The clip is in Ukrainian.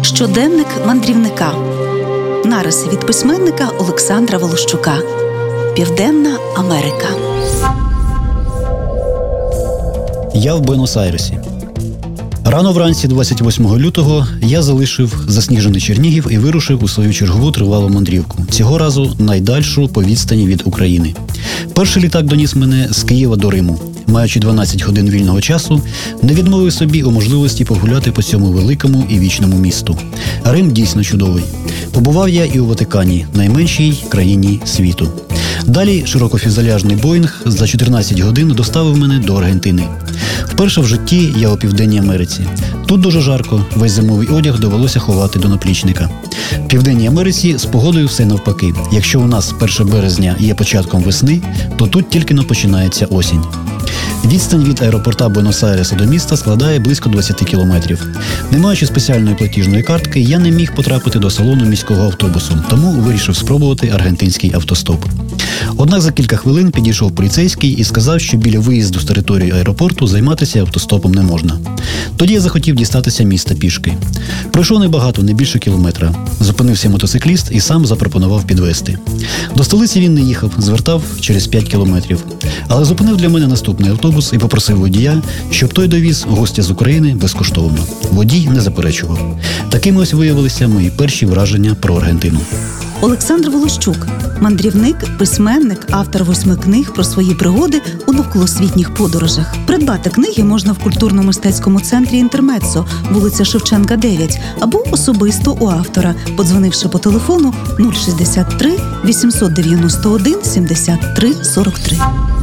Щоденник мандрівника. Нариси від письменника Олександра Волощука. Південна Америка. Я в Буенос-Айресі. Рано вранці 28 лютого я залишив засніжений Чернігів і вирушив у свою чергову тривалу мандрівку. Цього разу найдальшу по відстані від України. Перший літак доніс мене з Києва до Риму. Маючи 12 годин вільного часу, не відмовив собі у можливості погуляти по цьому великому і вічному місту. Рим дійсно чудовий. Побував я і у Ватикані, найменшій країні світу. Далі широкофюзеляжний Боїнг за 14 годин доставив мене до Аргентини. Вперше в житті я у Південній Америці. Тут дуже жарко, весь зимовий одяг довелося ховати до наплічника. В Південній Америці з погодою все навпаки. Якщо у нас 1 березня є початком весни, то тут тільки-но починається осінь. Відстань від аеропорта Буенос-Айреса до міста складає близько 20 кілометрів. Не маючи спеціальної платіжної картки, я не міг потрапити до салону міського автобусу, тому вирішив спробувати аргентинський автостоп. Однак за кілька хвилин підійшов поліцейський і сказав, що біля виїзду з території аеропорту займатися автостопом не можна. Тоді я захотів дістатися міста пішки. Пройшов небагато, не більше кілометра. Зупинився мотоцикліст і сам запропонував підвезти. До столиці він не їхав, звертав через 5 кілометрів. Але зупинив для мене наступний автобус і попросив водія, щоб той довіз гостя з України безкоштовно. Водій не заперечував. Такими ось виявилися мої перші враження про Аргентину. Олександр Волощук – мандрівник, письменник, автор 8 книг про свої пригоди у навколосвітніх подорожах. Придбати книги можна в культурно-мистецькому центрі «Інтермеццо», вулиця Шевченка, 9, або особисто у автора, подзвонивши по телефону 063 891 73 43.